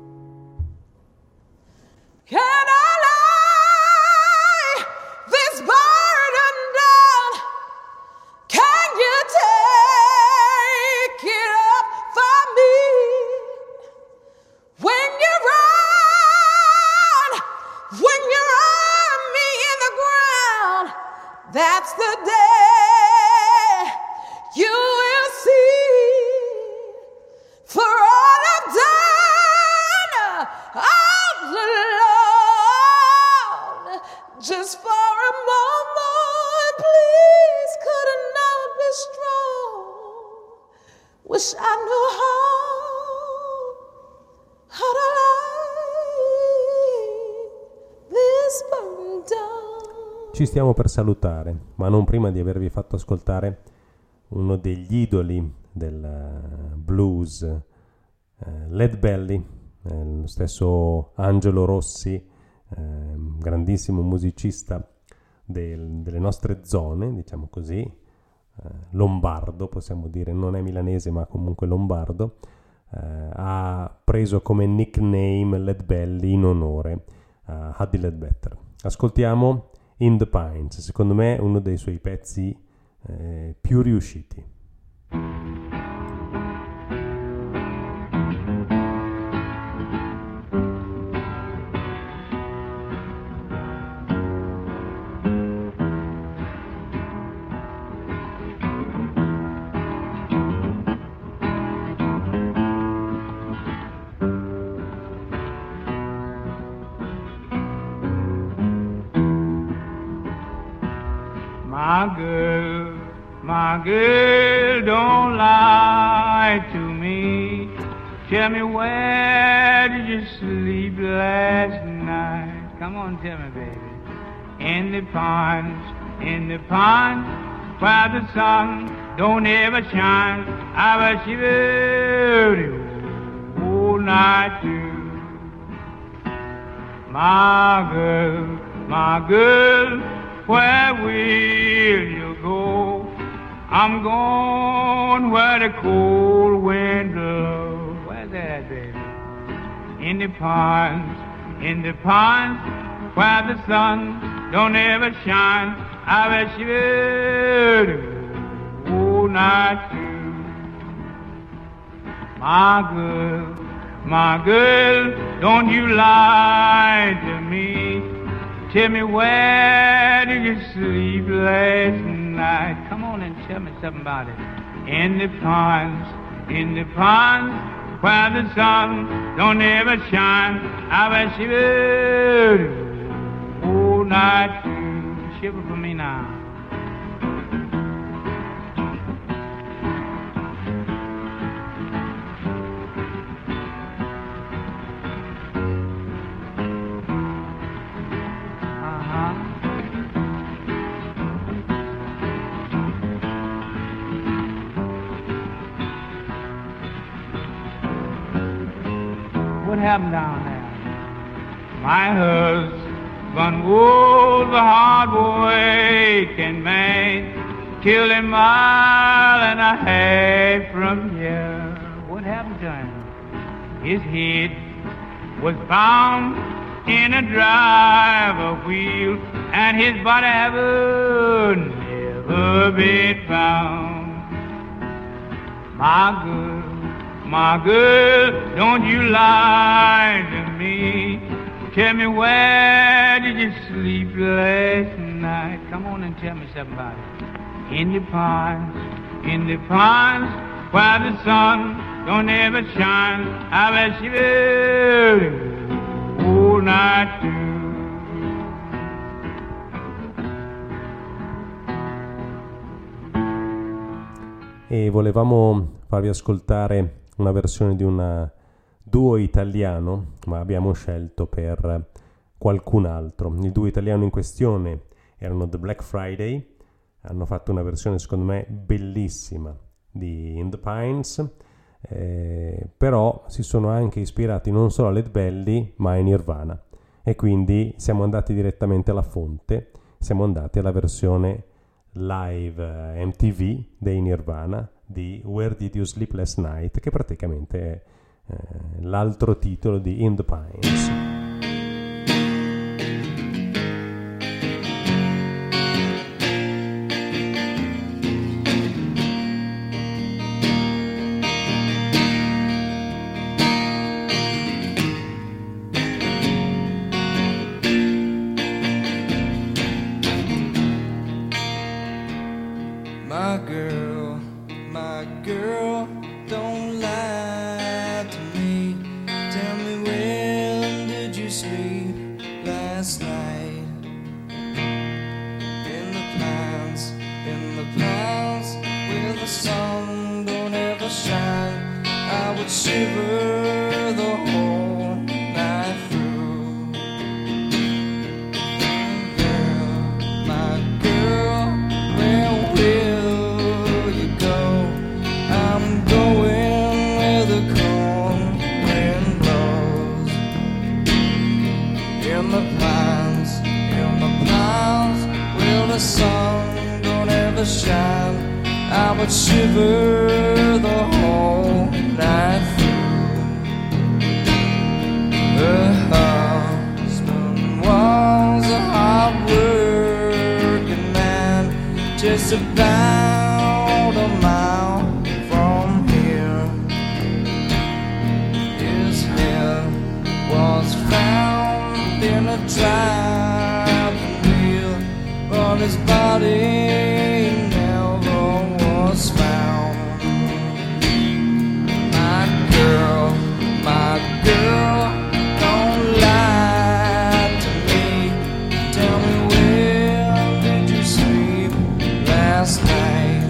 Can I lay this burden down? Can you take it up for me? When you run me in the ground, that's the day you will see. For all I've done, all alone, just for a moment, please, could I not be strong? Wish I knew how to lay this burden down. Ci stiamo per salutare, ma non prima di avervi fatto ascoltare uno degli idoli del blues Lead Belly, lo stesso Angelo Rossi, grandissimo musicista delle nostre zone, diciamo così, lombardo possiamo dire, non è milanese ma comunque lombardo, ha preso come nickname Lead Belly in onore a Huddie Ledbetter. Ascoltiamo In the Pines, secondo me uno dei suoi pezzi più riusciti. My girl, don't lie to me. Tell me, where did you sleep last night? Come on, tell me, baby. In the pond, where the sun don't ever shine. I was shivering all night too. My girl, where will you go? I'm going where the cold wind blows. Where's that, baby? In the ponds, where the sun don't ever shine. I bet you will all night too. My girl, don't you lie to me. Tell me, where did you sleep last night? Come on and tell me something about it. In the ponds, where the sun don't ever shine. I bet she will all night too. Shiver for me now. What happened down there? My husband was a hard-working man, killed a mile and a half from here. What happened to him? His head was found in a driver wheel, and his body never been found. My girl, don't you lie to me. Tell me, where did you sleep last night? Come on and tell me something about it. In the ponds, where the sun don't ever shine. I bet you will all night too. E volevamo farvi ascoltare una versione di un duo italiano, ma abbiamo scelto per qualcun altro. Il duo italiano in questione erano The Black Friday, hanno fatto una versione secondo me bellissima di In the Pines, però si sono anche ispirati non solo a Lead Belly ma a Nirvana, e quindi siamo andati direttamente alla fonte, siamo andati alla versione live MTV dei Nirvana di Where Did You Sleep Last Night, che praticamente è l'altro titolo di In the Pines. My girl, don't lie to me. Tell me, when did would shiver the whole night through. Her husband was a hard-working man, just about a mile from here. His head was found in a driving wheel, but his body never was found. My girl, don't lie to me. Tell me, where did you sleep last night?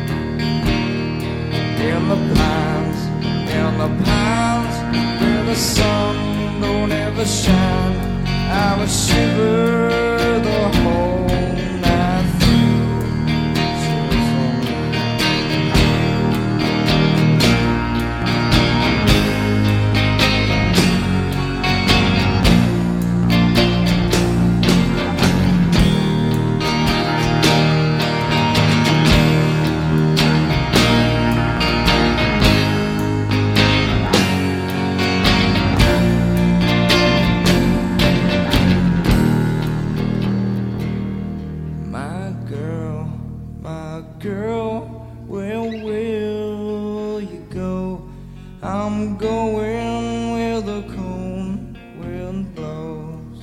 In the pines, where the sun don't ever shine. I would shiver the whole night through. My girl, where will you go? I'm going where the cold wind blows.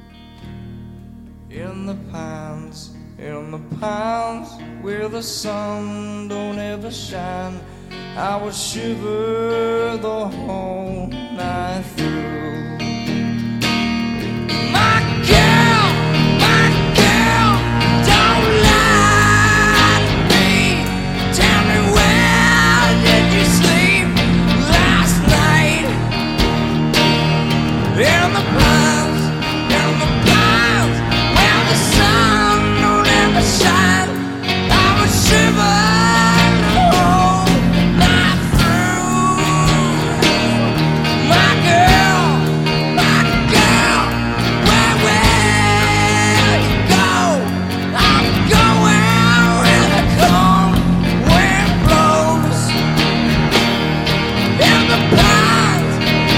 In the pines, where the sun don't ever shine, I would shiver the whole night through. My girl, don't lie to me. Tell me, where did you sleep last night? In the pines, where the sun don't ever shine, I would shiver the whole night through. My girl, where will you go? I'm going where the cold wind blows. In the pines,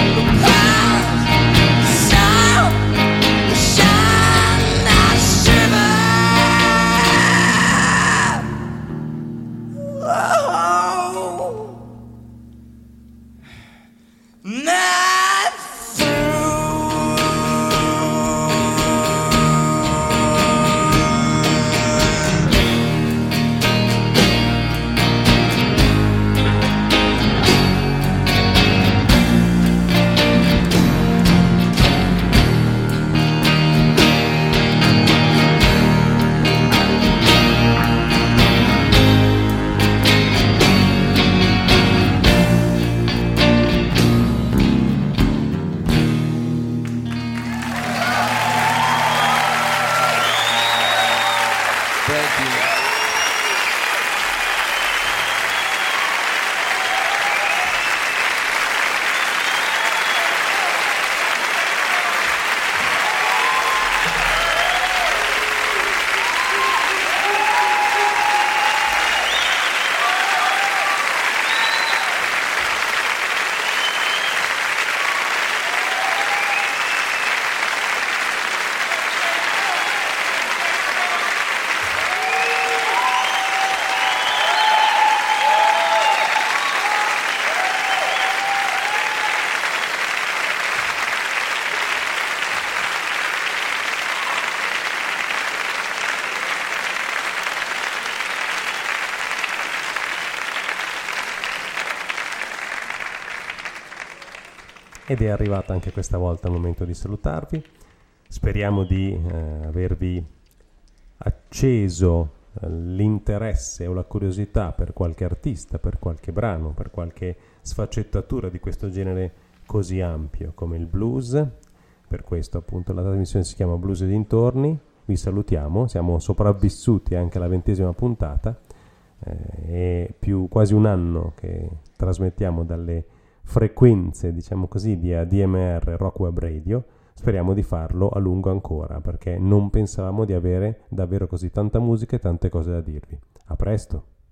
sun, the shine, I shiver. Oh, night through. Thank you. Ed è arrivato anche questa volta il momento di salutarvi. Speriamo di avervi acceso l'interesse o la curiosità per qualche artista, per qualche brano, per qualche sfaccettatura di questo genere così ampio come il blues. Per questo appunto la trasmissione si chiama Blues e dintorni. Vi salutiamo, siamo sopravvissuti anche alla 20ª puntata, è più quasi un anno che trasmettiamo dalle frequenze, diciamo così, di ADMR Rock Web Radio. Speriamo di farlo a lungo ancora, perché non pensavamo di avere davvero così tanta musica e tante cose da dirvi. A presto!